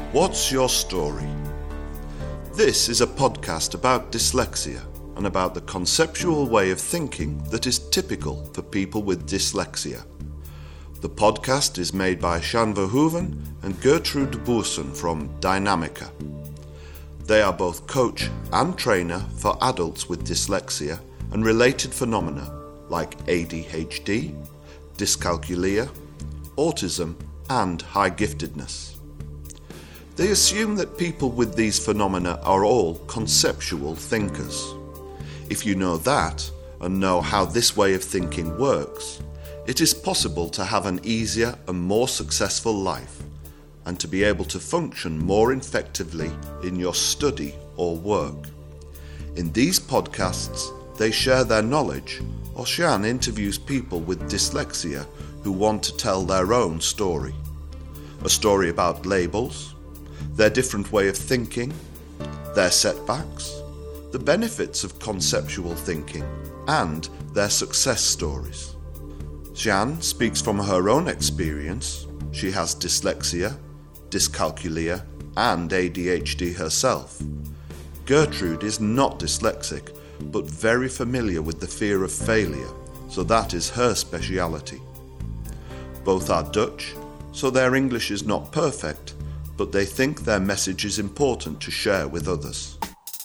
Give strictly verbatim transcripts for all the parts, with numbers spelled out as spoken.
What's your story? This is a podcast about dyslexia and about the conceptual way of thinking that is typical for people with dyslexia. The podcast is made by Sjaan Verhoeven and Gertrude Boersen from Dynamica. They are both coach and trainer for adults with dyslexia and related phenomena like A D H D, dyscalculia, autism, and high giftedness. They assume that people with these phenomena are all conceptual thinkers. If you know that and know how this way of thinking works, it is possible to have an easier and more successful life and to be able to function more effectively in your study or work. In these podcasts, they share their knowledge, or Sjaan interviews people with dyslexia who want to tell their own story. A story about labels, their different way of thinking, their setbacks, the benefits of conceptual thinking, and their success stories. Sjaan speaks from her own experience. She has dyslexia, dyscalculia, and A D H D herself. Gertrude is not dyslexic, but very familiar with the fear of failure, so that is her speciality. Both are Dutch, so their English is not perfect, but they think their message is important to share with others.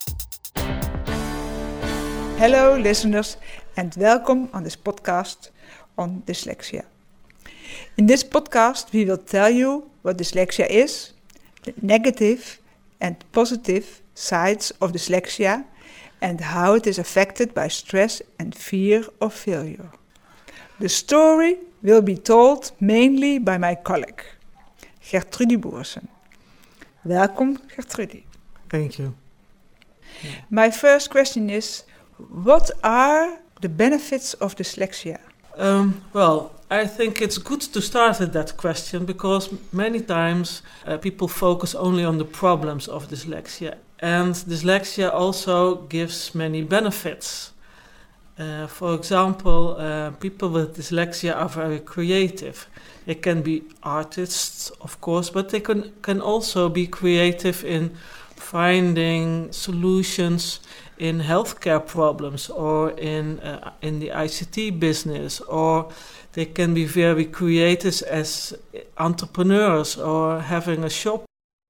Hello listeners and welcome on this podcast on dyslexia. In this podcast we will tell you what dyslexia is, the negative and positive sides of dyslexia and how it is affected by stress and fear of failure. The story will be told mainly by my colleague, Gertrude Boersen. Welcome, Gertrude. Thank you. My first question is, what are the benefits of dyslexia? Um, well, I think it's good to start with that question because many times uh, people focus only on the problems of dyslexia. And dyslexia also gives many benefits. Uh, for example, uh, people with dyslexia are very creative. They can be artists, of course, but they can, can also be creative in finding solutions in healthcare problems or in uh, in the I C T business, or they can be very creative as entrepreneurs or having a shop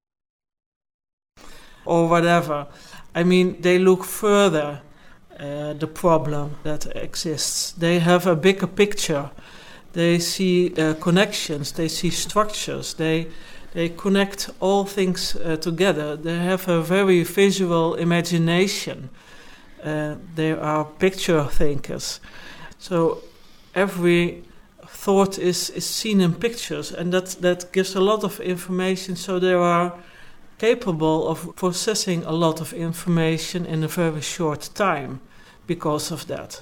or whatever. I mean, they look further uh, the problem that exists. They have a bigger picture. They see uh, connections. They see structures. They they connect all things uh, together. They have a very visual imagination. Uh, they are picture thinkers. So every thought is, is seen in pictures, and that, that gives a lot of information. So they are capable of processing a lot of information in a very short time because of that.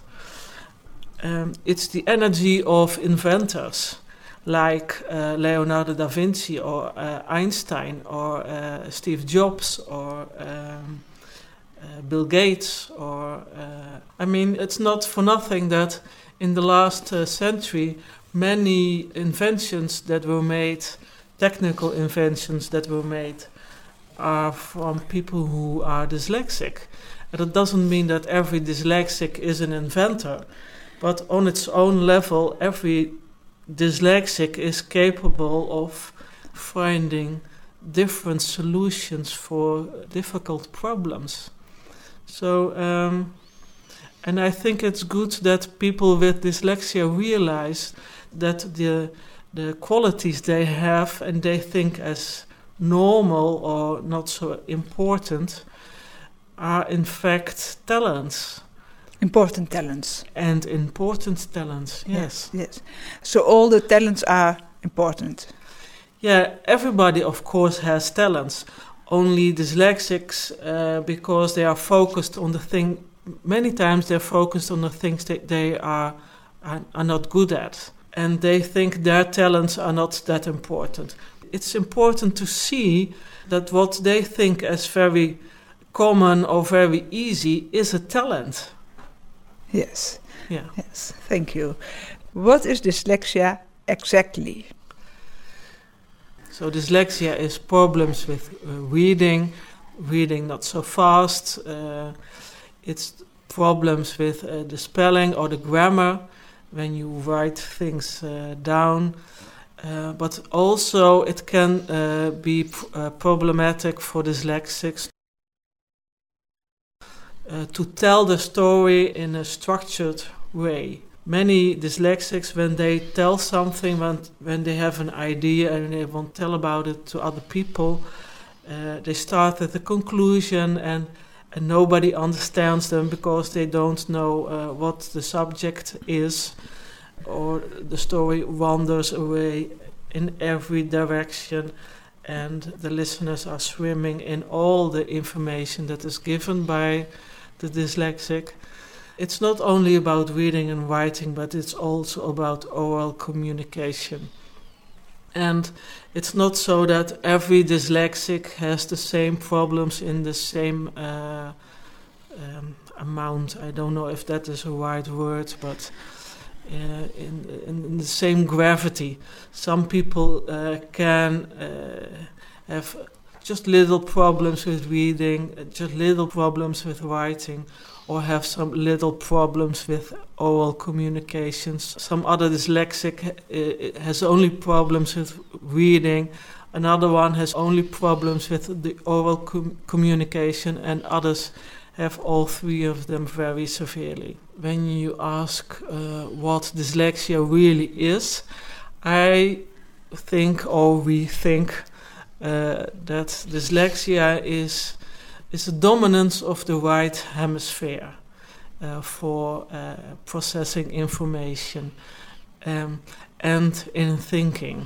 Um, it's the energy of inventors like uh, Leonardo da Vinci or uh, Einstein or uh, Steve Jobs or um, uh, Bill Gates. Or uh, I mean, it's not for nothing that in the last uh, century many inventions that were made, technical inventions that were made, are from people who are dyslexic. And it doesn't mean that every dyslexic is an inventor. But on its own level, every dyslexic is capable of finding different solutions for difficult problems. So, um, and I think it's good that people with dyslexia realize that the the qualities they have and they think as normal or not so important are in fact talents. Important talents. And important talents, yes. Yes, yes. So all the talents are important. Yeah, everybody of course has talents. Only dyslexics, uh, because they are focused on the thing, many times they're focused on the things that they are, are, are not good at. And they think their talents are not that important. It's important to see that what they think as very common or very easy is a talent. Yes. Yeah. Yes. Thank you. What is dyslexia exactly? So dyslexia is problems with uh, reading, reading not so fast. Uh, it's problems with uh, the spelling or the grammar when you write things uh, down. Uh, but also it can uh, be pr- uh, problematic for dyslexics uh, to tell the story in a structured way. Many dyslexics, when they tell something, when, when they have an idea and they want to tell about it to other people, uh, they start with a conclusion and, and nobody understands them because they don't know uh, what the subject is, or the story wanders away in every direction and the listeners are swimming in all the information that is given by the dyslexic. It's not only about reading and writing, but it's also about oral communication. And it's not so that every dyslexic has the same problems in the same uh, um, amount. I don't know if that is a right word, but uh, in, in, in the same gravity. Some people uh, can uh, have just little problems with reading, just little problems with writing, or have some little problems with oral communications. Some other dyslexic uh, has only problems with reading. Another one has only problems with the oral com- communication, and others have all three of them very severely. When you ask uh, what dyslexia really is, I think, or we think, uh, that dyslexia is is the dominance of the right hemisphere uh, for uh, processing information um, and in thinking.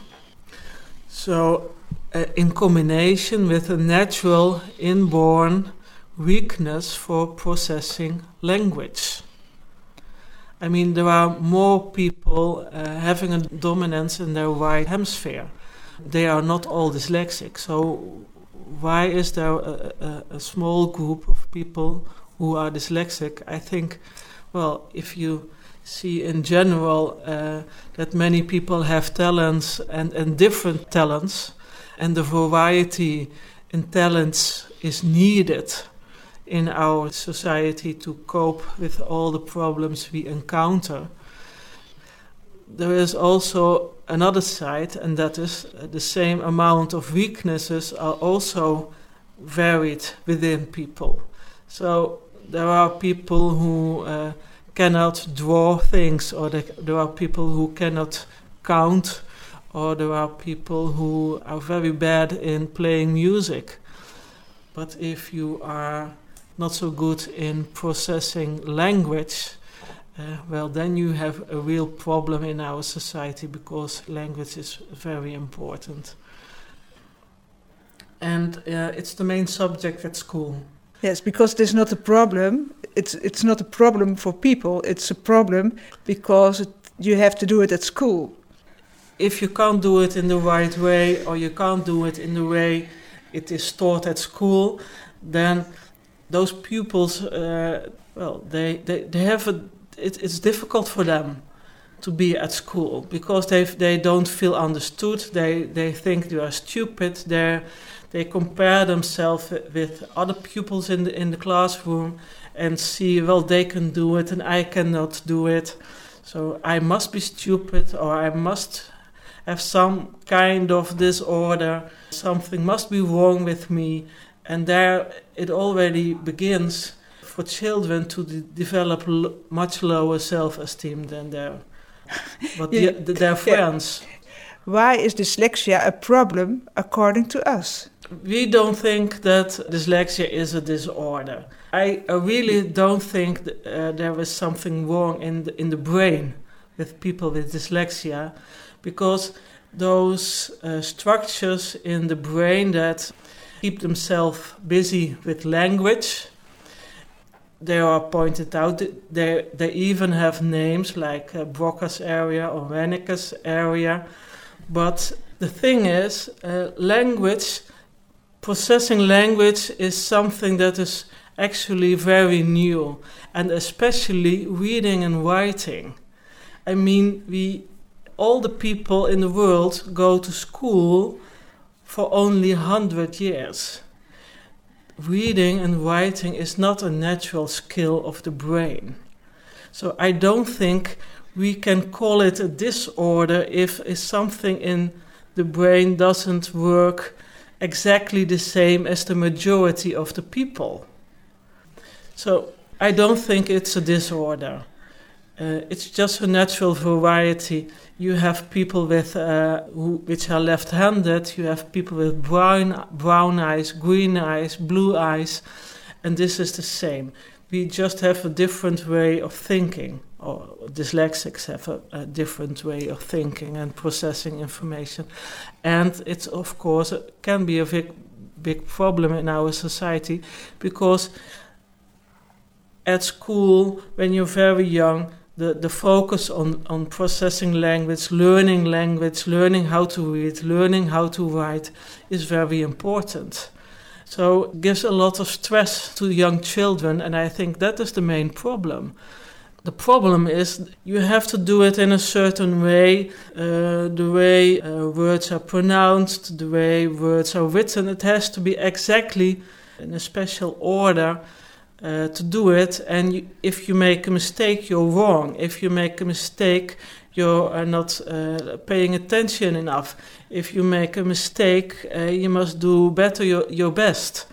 So, uh, in combination with a natural inborn weakness for processing language. I mean, there are more people uh, having a dominance in their right hemisphere. They are not all dyslexic, so why is there a, a, a small group of people who are dyslexic? I think, well, if you see in general uh, that many people have talents and, and different talents, and the variety in talents is needed in our society to cope with all the problems we encounter. There is also another side, and that is uh, the same amount of weaknesses are also varied within people. So there are people who uh, cannot draw things, or they, there are people who cannot count, or there are people who are very bad in playing music. But if you are not so good in processing language, Uh, well, then you have a real problem in our society, because language is very important. And uh, it's the main subject at school. Yes, because it is not a problem. It's it's not a problem for people. It's a problem because it, you have to do it at school. If you can't do it in the right way, or you can't do it in the way it is taught at school, then those pupils, uh, well, they, they, they have a It, it's difficult for them to be at school, because they they don't feel understood. They they think they are stupid. They they compare themselves with other pupils in the in the classroom and see, well, they can do it and I cannot do it. So I must be stupid, or I must have some kind of disorder. Something must be wrong with me, and there it already begins for children to de- develop l- much lower self-esteem than their, but Yeah, the, their friends. Yeah. Why is dyslexia a problem according to us? We don't think that dyslexia is a disorder. I, I really don't think th- uh, there is something wrong in the, in the brain with people with dyslexia, because those uh, structures in the brain that keep themselves busy with language, they are pointed out. They they even have names like uh, Broca's area or Wernicke's area. But the thing is, uh, language, processing language is something that is actually very new, and especially reading and writing. I mean, we all the people in the world go to school for only one hundred years. Reading and writing is not a natural skill of the brain. So I don't think we can call it a disorder if, if something in the brain doesn't work exactly the same as the majority of the people. So I don't think it's a disorder. Uh, it's just a natural variety. You have people with uh, who, which are left-handed. You have people with brown brown eyes, green eyes, blue eyes, and this is the same. We just have a different way of thinking, or dyslexics have a, a different way of thinking and processing information. And it's, of course, it can be a big, big problem in our society, because at school, when you're very young, the, the focus on, on processing language, learning language, learning how to read, learning how to write is very important. So it gives a lot of stress to young children, and I think that is the main problem. The problem is you have to do it in a certain way, uh, the way uh, words are pronounced, the way words are written. It has to be exactly in a special order uh, to do it, and you, if you make a mistake, you're wrong. If you make a mistake, you are not uh, paying attention enough. If you make a mistake, uh, you must do better your, your best.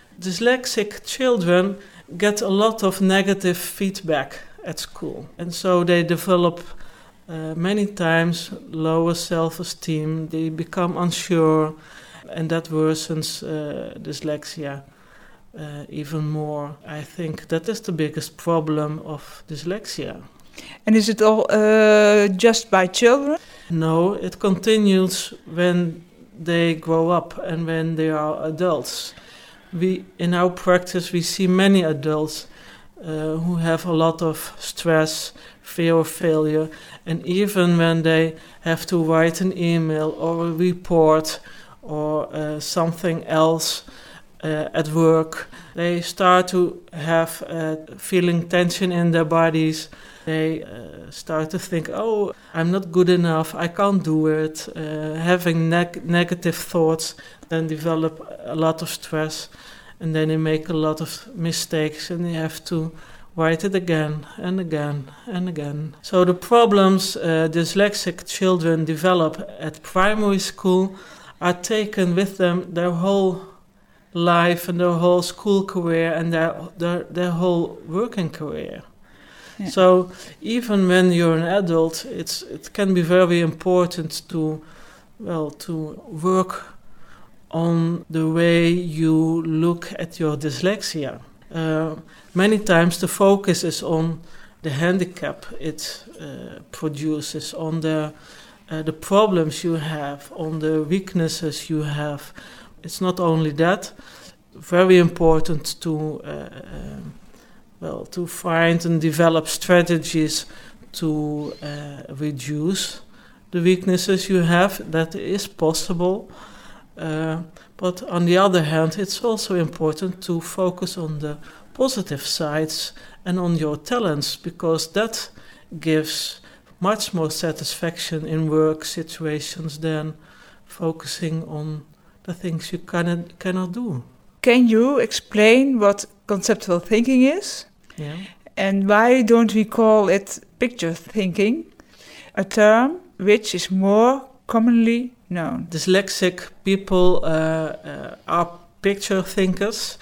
Dyslexic children get a lot of negative feedback at school, and so they develop uh, many times lower self-esteem. They become unsure, and that worsens uh, dyslexia uh, even more. I think that is the biggest problem of dyslexia. And is it all uh, just by children? No, it continues when they grow up and when they are adults. We, in our practice, we see many adults uh, who have a lot of stress, fear of failure, and even when they have to write an email or a report or uh, something else uh, at work, they start to have uh, feeling tension in their bodies. They uh, start to think, oh, I'm not good enough, I can't do it. Uh, having neg- negative thoughts, then develop a lot of stress, and then they make a lot of mistakes, and they have to write it again and again and again. So the problems uh, dyslexic children develop at primary school are taken with them their whole life and their whole school career and their their, their whole working career. Yeah. So even when you're an adult, it's it can be very important to, well, to work on the way you look at your dyslexia. Uh, many times the focus is on the handicap it uh, produces, on the uh, the problems you have, on the weaknesses you have. It's not only that. Very important to uh, uh, well to find and develop strategies to uh, reduce the weaknesses you have. That is possible. Uh, but on the other hand, it's also important to focus on the positive sides and on your talents, because that gives much more satisfaction in work situations than focusing on the things you cannot, cannot do. Can you explain what conceptual thinking is? Yeah. And why don't we call it picture thinking, a term which is more commonly known? Dyslexic people uh, uh, are picture thinkers,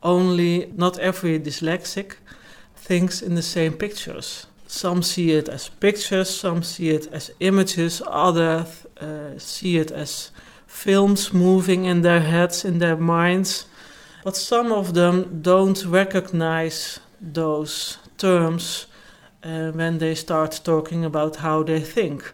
only not every dyslexic thinks in the same pictures. Some see it as pictures, some see it as images, others uh, see it as films moving in their heads, in their minds. But some of them don't recognize those terms uh, when they start talking about how they think.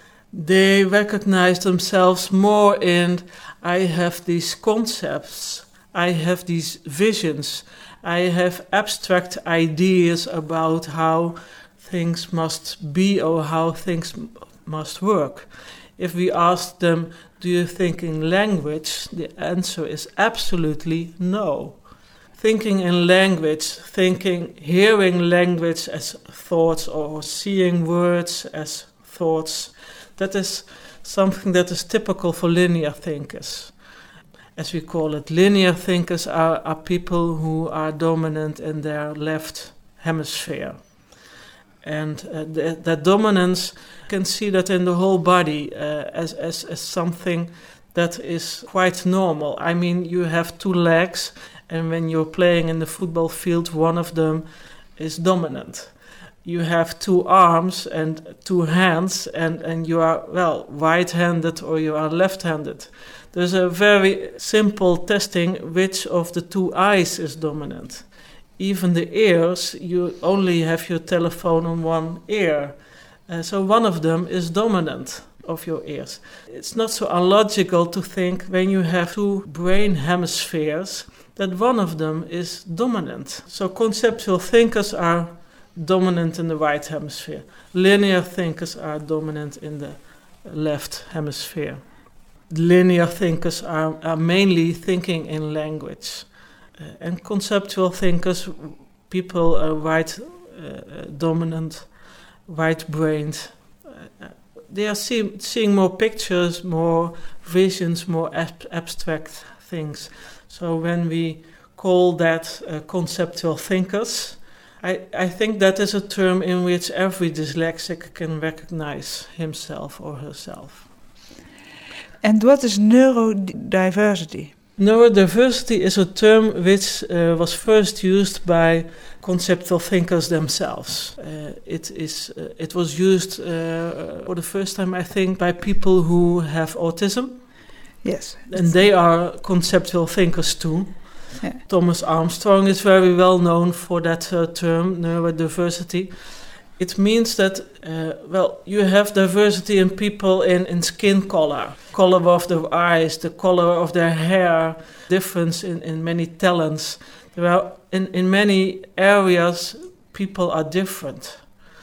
They recognize themselves more in, I have these concepts, I have these visions, I have abstract ideas about how things must be or how things m- must work. If we ask them, do you think in language? The answer is absolutely no. Thinking in language, thinking, hearing language as thoughts or seeing words as thoughts, that is something that is typical for linear thinkers. as we call it. Linear thinkers are, are people who are dominant in their left hemisphere. And uh, th- that dominance, you can see that in the whole body uh, as, as, as something that is quite normal. I mean, you have two legs, and when you're playing in the football field, one of them is dominant. You have two arms and two hands, and, and you are, well, right-handed or you are left-handed. There's a very simple testing which of the two eyes is dominant. Even the ears, you only have your telephone on one ear. Uh, so one of them is dominant of your ears. It's not so illogical to think when you have two brain hemispheres that one of them is dominant. So conceptual thinkers are dominant in the right hemisphere. Linear thinkers are dominant in the left hemisphere. Linear thinkers are, are mainly thinking in language. Uh, and conceptual thinkers, people are right uh, dominant, right-brained. Uh, they are see, seeing more pictures, more visions, more ab- abstract things. So when we call that uh, conceptual thinkers, I, I think that is a term in which every dyslexic can recognize himself or herself. And what is neurodiversity? Neurodiversity is a term which uh, was first used by conceptual thinkers themselves. Uh, it is uh, it was used uh, for the first time, I think, by people who have autism. Yes. And they are conceptual thinkers too. Yeah. Thomas Armstrong is very well known for that uh, term, neurodiversity. It means that, uh, well, you have diversity in people in, in skin color, color of their eyes, the color of their hair, difference in, in many talents. There are, in, in many areas, people are different.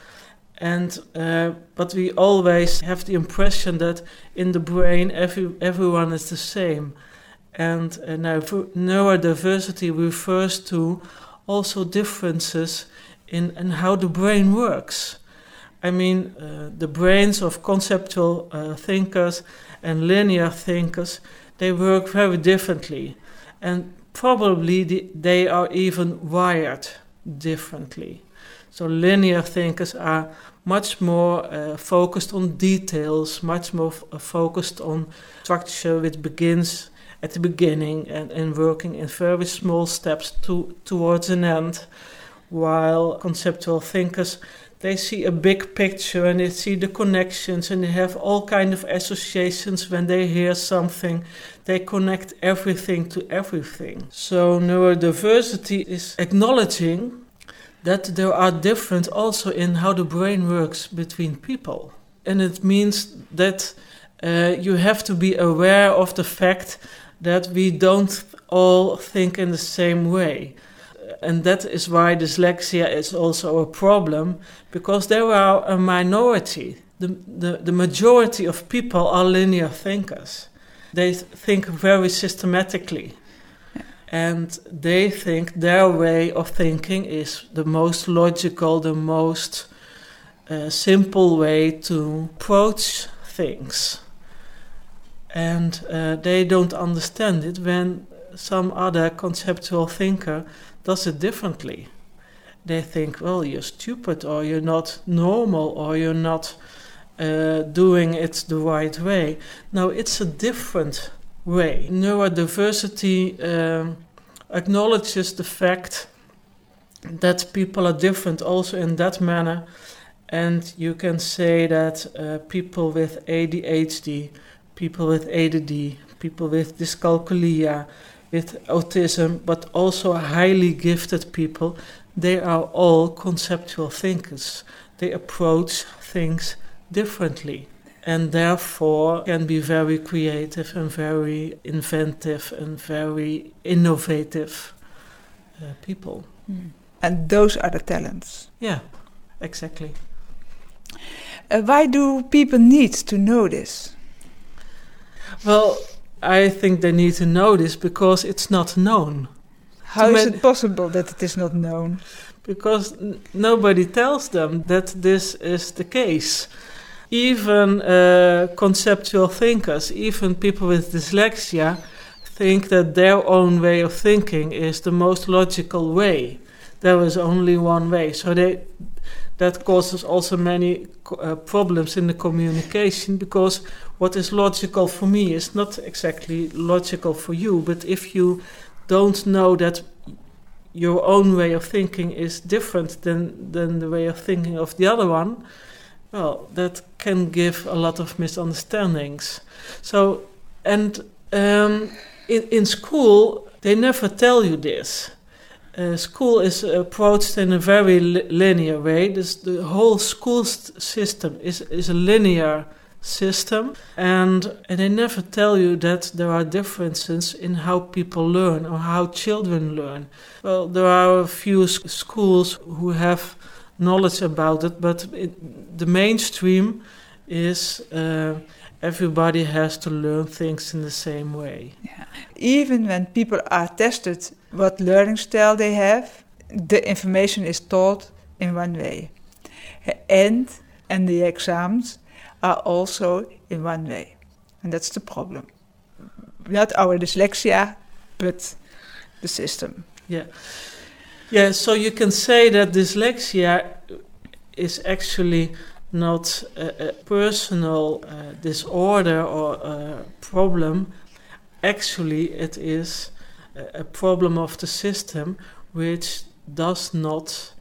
And uh, but we always have the impression that in the brain every, everyone is the same. And uh, now neurodiversity refers to also differences in, in how the brain works. I mean, uh, the brains of conceptual uh, thinkers and linear thinkers, they work very differently. And probably the, they are even wired differently. So linear thinkers are much more uh, focused on details, much more f- focused on structure which begins at the beginning and, and working in very small steps to, towards an end, while conceptual thinkers, they see a big picture and they see the connections and they have all kind of associations when they hear something. They connect everything to everything. So neurodiversity is acknowledging that there are different also in how the brain works between people. And it means that uh, you have to be aware of the fact that we don't all think in the same way. And that is why dyslexia is also a problem, because there are a minority. The, the, the majority of people are linear thinkers. They th- think very systematically. And they think their way of thinking is the most logical, the most uh, simple way to approach things. And uh, they don't understand it when some other conceptual thinker does it differently. They think, well, you're stupid, or you're not normal, or you're not uh, doing it the right way. No, it's a different way. Neurodiversity um, acknowledges the fact that people are different also in that manner. And you can say that uh, people with A D H D, people with A D D, people with dyscalculia, with autism, but also highly gifted people, they are all conceptual thinkers. They approach things differently and therefore can be very creative and very inventive and very innovative uh, people. Mm. And those are the talents. Yeah, exactly. Uh, why do people need to know this? Well, I think they need to know this because it's not known. How To is man- it possible that it is not known? Because n- nobody tells them that this is the case. Even uh, conceptual thinkers, even people with dyslexia, think that their own way of thinking is the most logical way. There is only one way. So they, that causes also many uh, problems in the communication, because what is logical for me is not exactly logical for you. But if you don't know that your own way of thinking is different than, than the way of thinking of the other one, well, that can give a lot of misunderstandings. So, and um, in, in school, they never tell you this. Uh, school is approached in a very li- linear way. This, the whole school st- system is, is a linear system, and, and they never tell you that there are differences in how people learn or how children learn. Well, there are a few s- schools who have knowledge about it, but it, the mainstream is uh, everybody has to learn things in the same way. Yeah. Even when people are tested what learning style they have, the information is taught in one way. And, and the exams are also in one way. And that's the problem. Not our dyslexia, but the system. Yeah. Yeah, so you can say that dyslexia is actually not a, a personal uh, disorder or a problem. Actually, it is a, a problem of the system which does not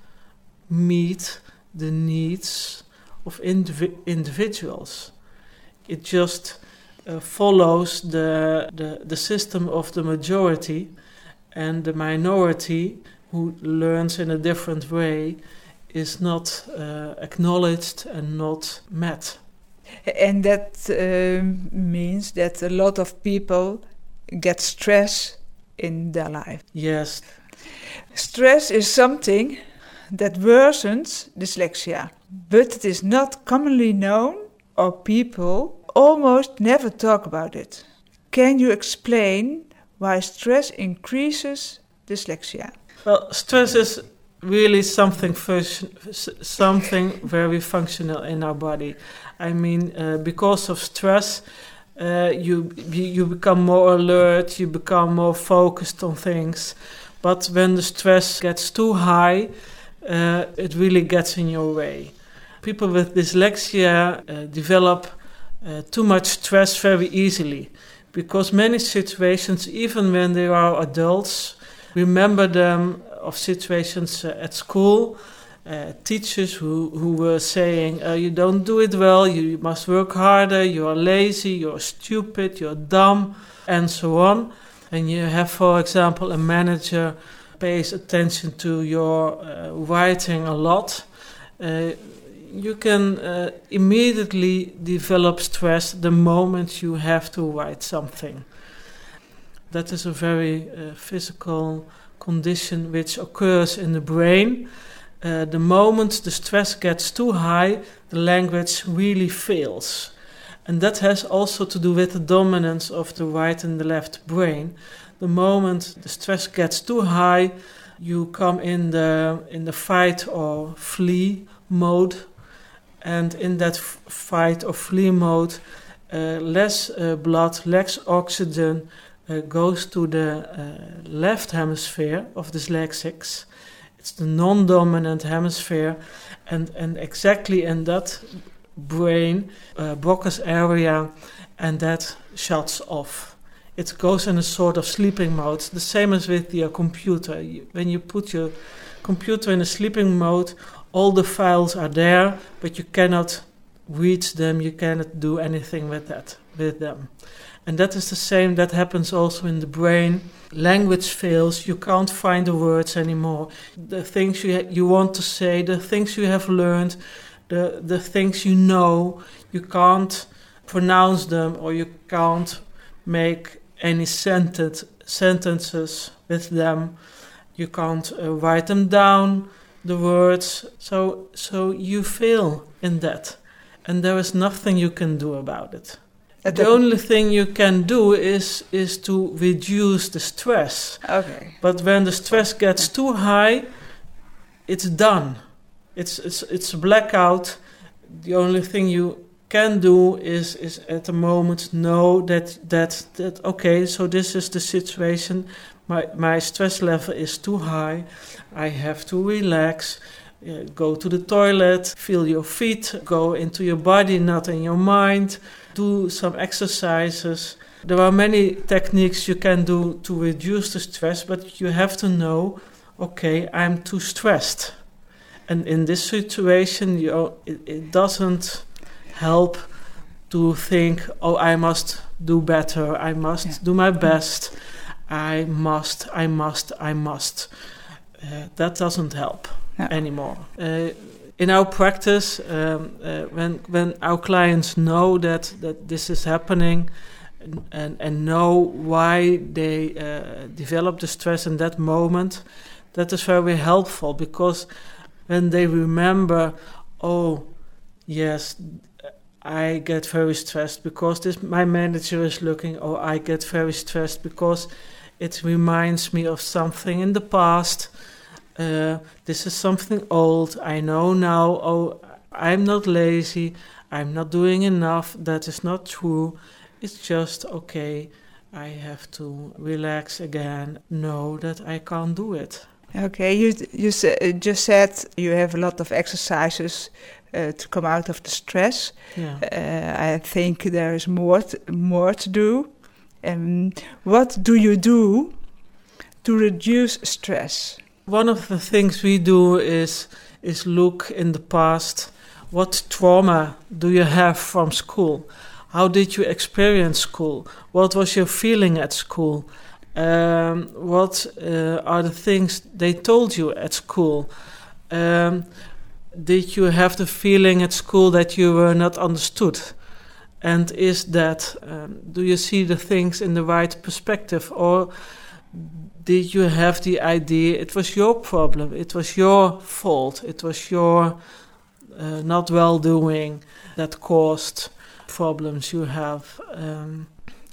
meet the needs of indivi- individuals. It just uh, follows the, the the system of the majority, and the minority who learns in a different way is not uh, acknowledged and not met. And that um, means that a lot of people get stress in their life. Yes. Stress is something that worsens dyslexia, but it is not commonly known, or people almost never talk about it. Can you explain why stress increases dyslexia? Well, stress is really something function, something very functional in our body. I mean, uh, because of stress, uh, you you become more alert, you become more focused on things. But when the stress gets too high, uh, it really gets in your way. People with dyslexia uh, develop uh, too much stress very easily, because many situations, even when they are adults, remember them of situations uh, at school, uh, teachers who, who were saying, uh, you don't do it well, you must work harder, you're lazy, you're stupid, you're dumb, and so on. And you have, for example, a manager pays attention to your uh, writing a lot. Uh, you can uh, immediately develop stress the moment you have to write something. That is a very uh, physical condition which occurs in the brain. Uh, the moment the stress gets too high, the language really fails. And that has also to do with the dominance of the right and the left brain. The moment the stress gets too high, you come in the in the fight or flee mode. And in that f- fight or flee mode, uh, less uh, blood, less oxygen uh, goes to the uh, left hemisphere of dyslexics. It's the non-dominant hemisphere, and, and exactly in that brain, uh, Broca's area, and that shuts off. It goes in a sort of sleeping mode, the same as with your computer. You, when you put your computer in a sleeping mode, all the files are there, but you cannot reach them, you cannot do anything with that, with them. And that is the same that happens also in the brain. Language fails, you can't find the words anymore. The things you ha- you want to say, the things you have learned, the, the things you know, you can't pronounce them, or you can't make any sentence, sentences with them. You can't uh, write them down, the words. So, so you fail in that. And there is nothing you can do about it. At The that- only thing you can do is is to reduce the stress. Okay. But when the stress gets too high, it's done. It's it's it's a blackout. The only thing you can do is is at the moment know that that that okay, so this is the situation. My my stress level is too high. I have to relax. Uh, go to the toilet, feel your feet, go into your body, not in your mind. Do some exercises. There are many techniques you can do to reduce the stress, but you have to know, okay, I'm too stressed. And in this situation, you know, it, it doesn't help to think, oh, I must do better, I must yeah. do my best, I must, I must, I must. Uh, that doesn't help yeah. anymore. Uh, in our practice, um, uh, when when our clients know that, that this is happening and, and, and know why they uh, develop the stress in that moment, that is very helpful, because when they remember, oh, yes, I get very stressed because this my manager is looking, or I get very stressed because it reminds me of something in the past. Uh, this is something old. I know now, oh, I'm not lazy. I'm not doing enough. That is not true. It's just, okay, I have to relax again, know that I can't do it. Okay, you you sa- just said you have a lot of exercises uh, to come out of the stress. Yeah. Uh, I think there is more t- more to do. Um, what do you do to reduce stress? One of the things we do is is look in the past. What trauma do you have from school? How did you experience school? What was your feeling at school? Um, what uh, are the things they told you at school? Um, did you have the feeling at school that you were not understood? And is that, um, do you see the things in the right perspective? Or did you have the idea it was your problem, it was your fault, it was your uh, not well-doing that caused problems you have? Um,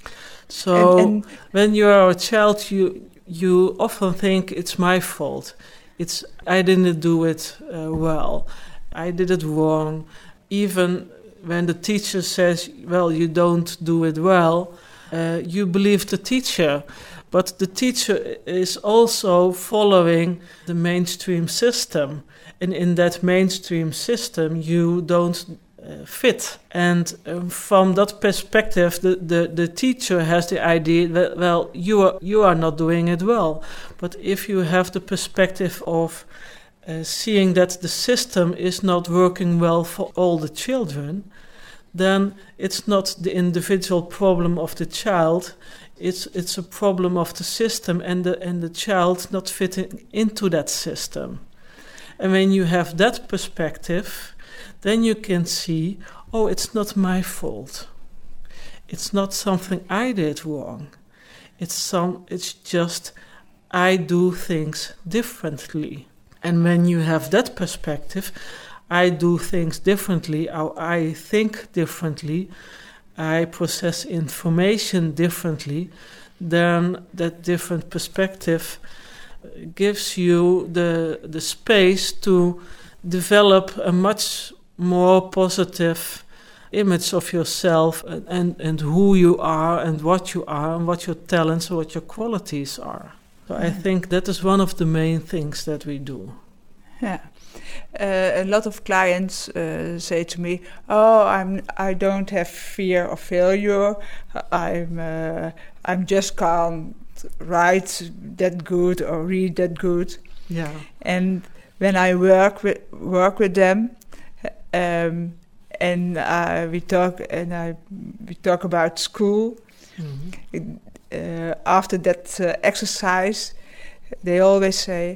So and, and when you are a child, you you often think it's my fault. It's I didn't do it uh, well. I did it wrong. Even when the teacher says, well, you don't do it well, uh, you believe the teacher. But the teacher is also following the mainstream system. And in that mainstream system, you don't Uh, fit. And um, from that perspective, the, the, the teacher has the idea that, well, you are, you are not doing it well. But if you have the perspective of uh, seeing that the system is not working well for all the children, then it's not the individual problem of the child, it's it's a problem of the system and the, and the child not fitting into that system. And when you have that perspective, then you can see, oh, it's not my fault. It's not something I did wrong. It's some. It's just I do things differently. And when you have that perspective, I do things differently, or I think differently, I process information differently, then that different perspective gives you the the space to develop a much more positive image of yourself and, and, and who you are and what you are and what your talents and what your qualities are. So yeah. I think that is one of the main things that we do. Yeah. Uh, a lot of clients uh, say to me, oh, I'm, I don't have fear of failure. I'm, uh, I'm just can't write that good or read that good. Yeah. And when I work with, work with them, Um, and uh, we talk and I we talk about school. Mm-hmm. Uh, after that uh, exercise, they always say,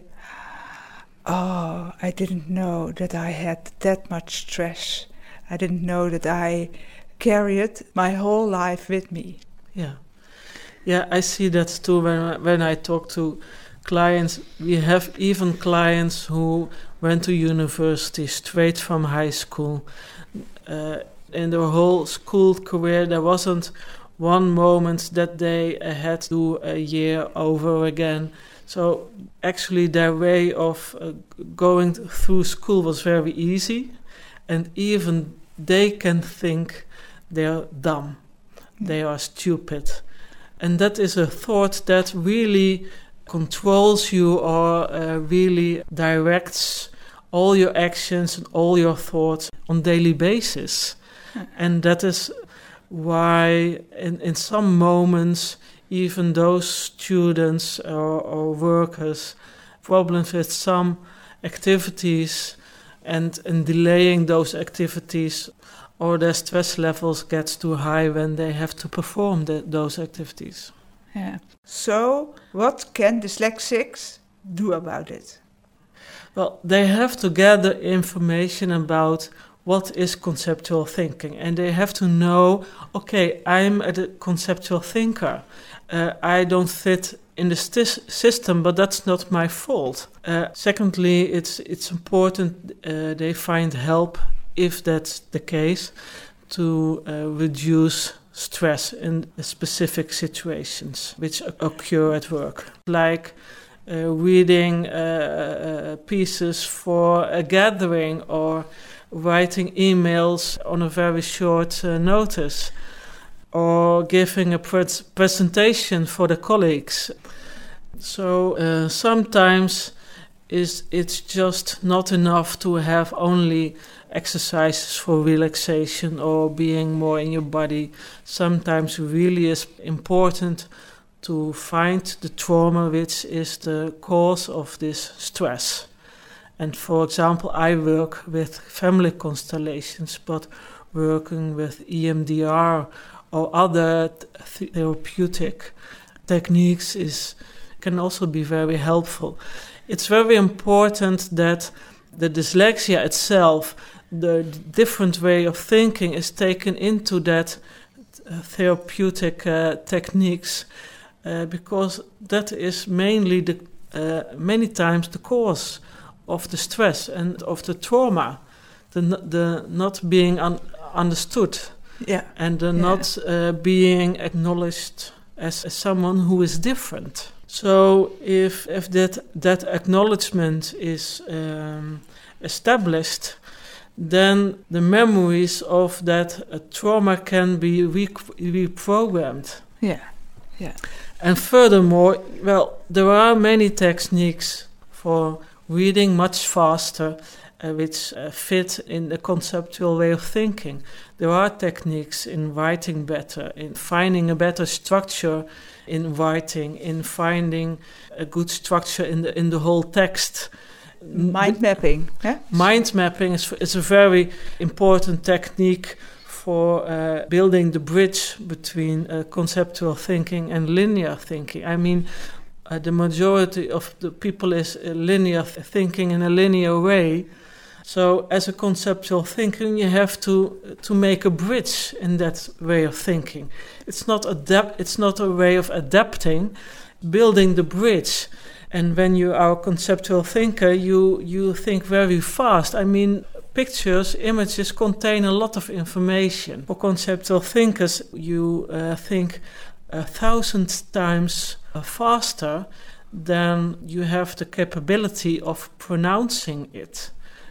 "Oh, I didn't know that I had that much stress. I didn't know that I carried my whole life with me." Yeah, yeah, I see that too. When when I talk to clients, we have even clients who went to university straight from high school. Uh, in their whole school career, there wasn't one moment that they uh, had to do a year over again. So actually their way of uh, going through school was very easy. And even they can think they're dumb, they are stupid. And that is a thought that really controls you or uh, really directs all your actions and all your thoughts on daily basis. And that is why in, in some moments, even those students or, or workers, problems with some activities and, and delaying those activities, or their stress levels gets too high when they have to perform the, those activities. Yeah. So, what can dyslexics do about it? Well, they have to gather information about what is conceptual thinking, and they have to know, okay, I'm a conceptual thinker. Uh, I don't fit in the st- system, but that's not my fault. Uh, secondly, it's it's important uh, they find help, if that's the case, to uh, reduce stress in specific situations which occur at work, like uh, reading uh, uh, pieces for a gathering or writing emails on a very short uh, notice, or giving a pre- presentation for the colleagues. So uh, sometimes is it's just not enough to have only exercises for relaxation or being more in your body. Sometimes really is important to find the trauma which is the cause of this stress. And for example, I work with family constellations, but working with E M D R or other th- therapeutic techniques is can also be very helpful. It's very important that the dyslexia itself, the different way of thinking, is taken into that uh, therapeutic uh, techniques, uh, because that is mainly the uh, many times the cause of the stress and of the trauma, the the not being un- understood, yeah, and the yeah. not uh, being acknowledged as, as someone who is different. So if if that that acknowledgement is um, established, then the memories of that uh, trauma can be re- reprogrammed. Yeah, yeah. And furthermore, well, there are many techniques for reading much faster, uh, which uh, fit in the conceptual way of thinking. There are techniques in writing better, in finding a better structure in writing, in finding a good structure in the in the whole text. Mind mapping. Eh? Mind mapping is, is a very important technique for uh, building the bridge between uh, conceptual thinking and linear thinking. I mean, uh, the majority of the people is uh, linear th- thinking in a linear way. So as a conceptual thinker, you have to to make a bridge in that way of thinking. It's not adapt. It's not a way of adapting, building the bridge. And when you are a conceptual thinker, you you think very fast. I mean, pictures, images contain a lot of information. For conceptual thinkers, you uh, think a thousand times uh, faster than you have the capability of pronouncing it,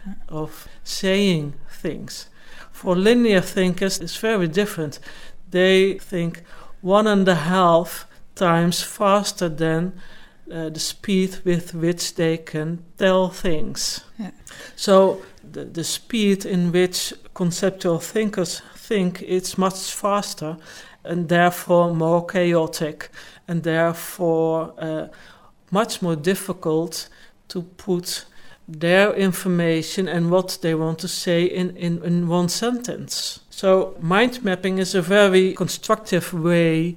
of saying things. For linear thinkers, it's very different. They think one and a half times faster than uh, the speed with which they can tell things. Yeah. So the, the speed in which conceptual thinkers think, it's much faster and therefore more chaotic, and therefore uh, much more difficult to put their information and what they want to say in, in, in one sentence. So mind mapping is a very constructive way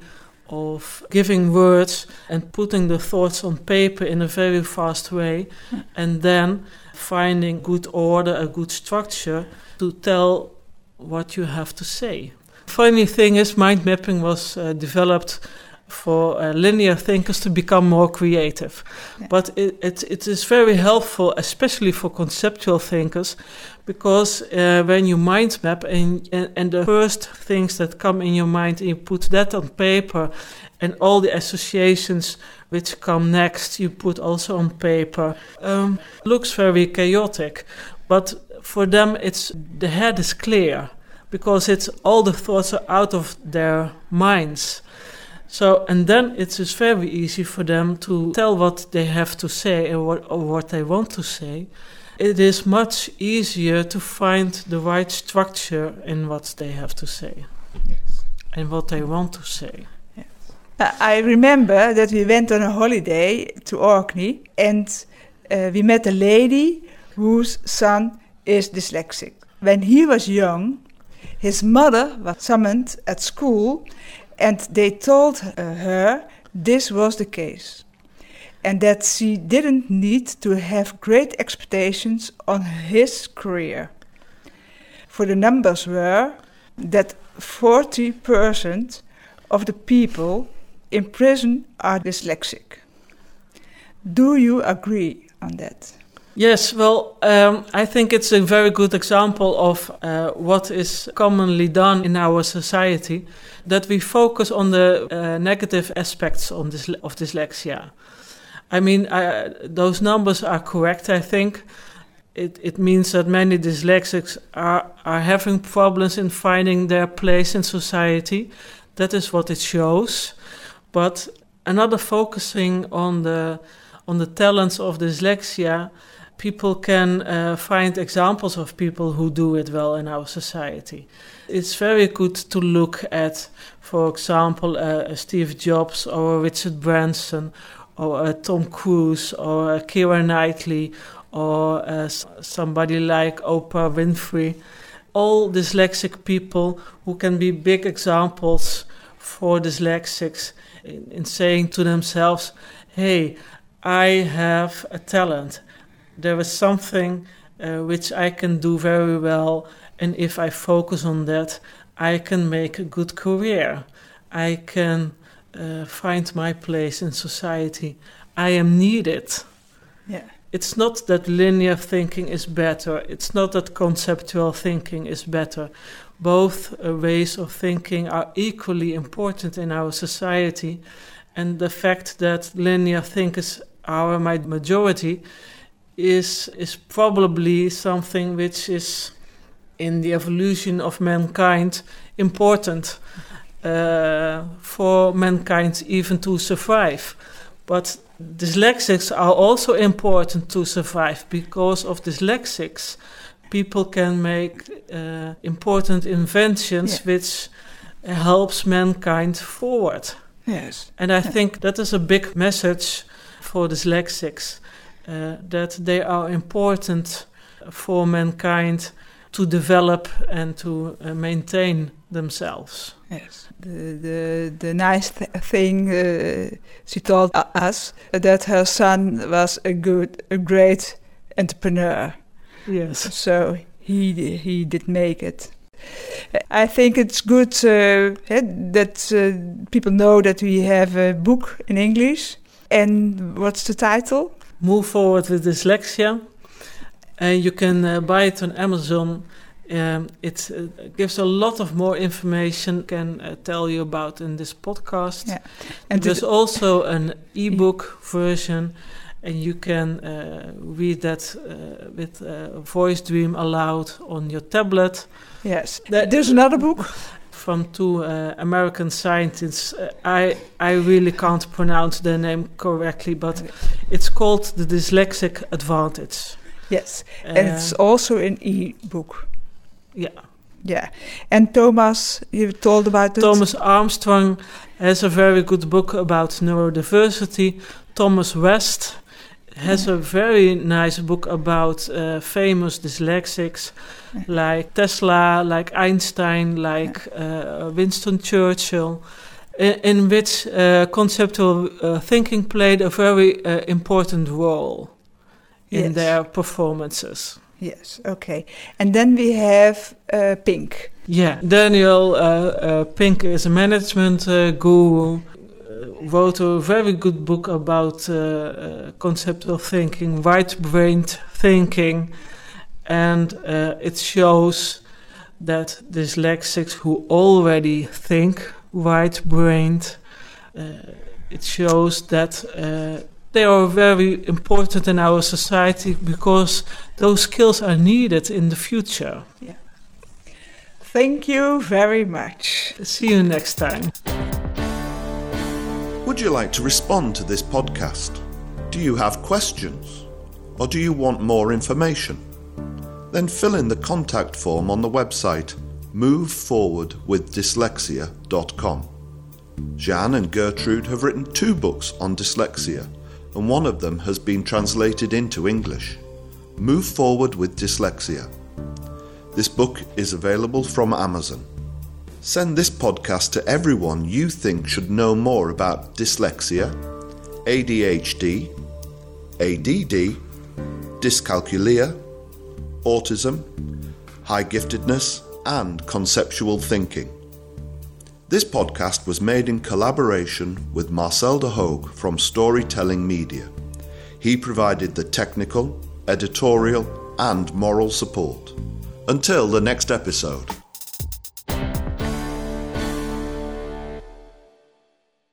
of giving words and putting the thoughts on paper in a very fast way, and then finding good order, a good structure to tell what you have to say. Funny thing is, mind mapping was uh, developed for uh, linear thinkers to become more creative. Yeah. But it, it, it is very helpful, especially for conceptual thinkers, because uh, when you mind map and, and, and the first things that come in your mind, and you put that on paper, and all the associations which come next, you put also on paper, um, looks very chaotic. But for them, it's the head is clear. because it's all the thoughts are out of their minds. So, and then it is very easy for them to tell what they have to say or what, or what they want to say. It is much easier to find the right structure in what they have to say. Yes. And what they want to say. Yes. Uh, I remember that we went on a holiday to Orkney, and uh, we met a lady whose son is dyslexic. When he was young, his mother was summoned at school, and they told uh, her this was the case, and that she didn't need to have great expectations on his career. For the numbers were that forty percent of the people in prison are dyslexic. Do you agree on that? Yes, well, um, I think it's a very good example of uh, what is commonly done in our society, that we focus on the uh, negative aspects on this, of dyslexia. I mean, uh, those numbers are correct, I think. It, it means that many dyslexics are, are having problems in finding their place in society. That is what it shows. But another focusing on the, on the talents of dyslexia, people can uh, find examples of people who do it well in our society. It's very good to look at, for example, uh, Steve Jobs or Richard Branson or uh, Tom Cruise or uh, Keira Knightley or uh, somebody like Oprah Winfrey. All dyslexic people who can be big examples for dyslexics in, in saying to themselves, hey, I have a talent. There is something uh, which I can do very well, and if I focus on that, I can make a good career. I can uh, find my place in society. I am needed. Yeah. It's not that linear thinking is better. It's not that conceptual thinking is better. Both uh, ways of thinking are equally important in our society, and the fact that linear thinkers are my majority is is probably something which is in the evolution of mankind important uh, for mankind even to survive. But dyslexics are also important to survive. Because of dyslexics, people can make uh, important inventions yeah. which helps mankind forward. Yes. And I yeah. think that is a big message for dyslexics. Uh, that they are important for mankind to develop and to uh, maintain themselves. Yes. The the, the nice th- thing uh, she told us that her son was a good, a great entrepreneur. Yes. So he he did make it. I think it's good uh, that uh, people know that we have a book in English. And what's the title? Move Forward with Dyslexia. And you can uh, buy it on Amazon. Um, it uh, gives a lot of more information I can uh, tell you about in this podcast. Yeah. And there's also an e-book version, and you can uh, read that uh, with uh, Voice Dream Aloud on your tablet. Yes. There's another book from two uh, American scientists. Uh, I I really can't pronounce their name correctly, but okay. It's called The Dyslexic Advantage. Yes, uh, and it's also an e-book. Yeah. Yeah. And Thomas, you told about it? Thomas Armstrong has a very good book about neurodiversity. Thomas West has yeah. a very nice book about uh, famous dyslexics yeah. like Tesla, like Einstein, like yeah. uh, Winston Churchill, in, in which uh, conceptual uh, thinking played a very uh, important role in yes. their performances. Yes, okay. And then we have uh, Pink. Yeah, Daniel uh, uh, Pink is a management uh, guru. Wrote a very good book about uh, uh, conceptual thinking, right-brained thinking, and uh, it shows that dyslexics who already think right-brained, uh, it shows that uh, they are very important in our society because those skills are needed in the future. Yeah. Thank you very much. See you next time. Would you like to respond to this podcast? Do you have questions? Or do you want more information? Then fill in the contact form on the website move forward with dyslexia dot com. Jeanne and Gertrude have written two books on dyslexia, and one of them has been translated into English. Move Forward with Dyslexia. This book is available from Amazon. Send this podcast to everyone you think should know more about dyslexia, A D H D, A D D, dyscalculia, autism, high giftedness, and conceptual thinking. This podcast was made in collaboration with Marcel de Hoog from Storytelling Media. He provided the technical, editorial, and moral support. Until the next episode.